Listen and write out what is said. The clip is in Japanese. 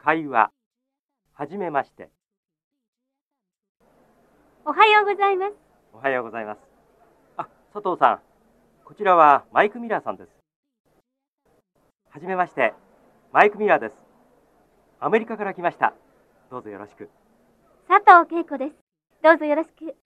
会話、はじめまして。 おはようございます。 おはようございます。あ、佐藤さん。こちらはマイク・ミラーさんです。はじめまして。マイク・ミラーです。アメリカから来ました。どうぞよろしく。 佐藤恵子です。どうぞよろしく。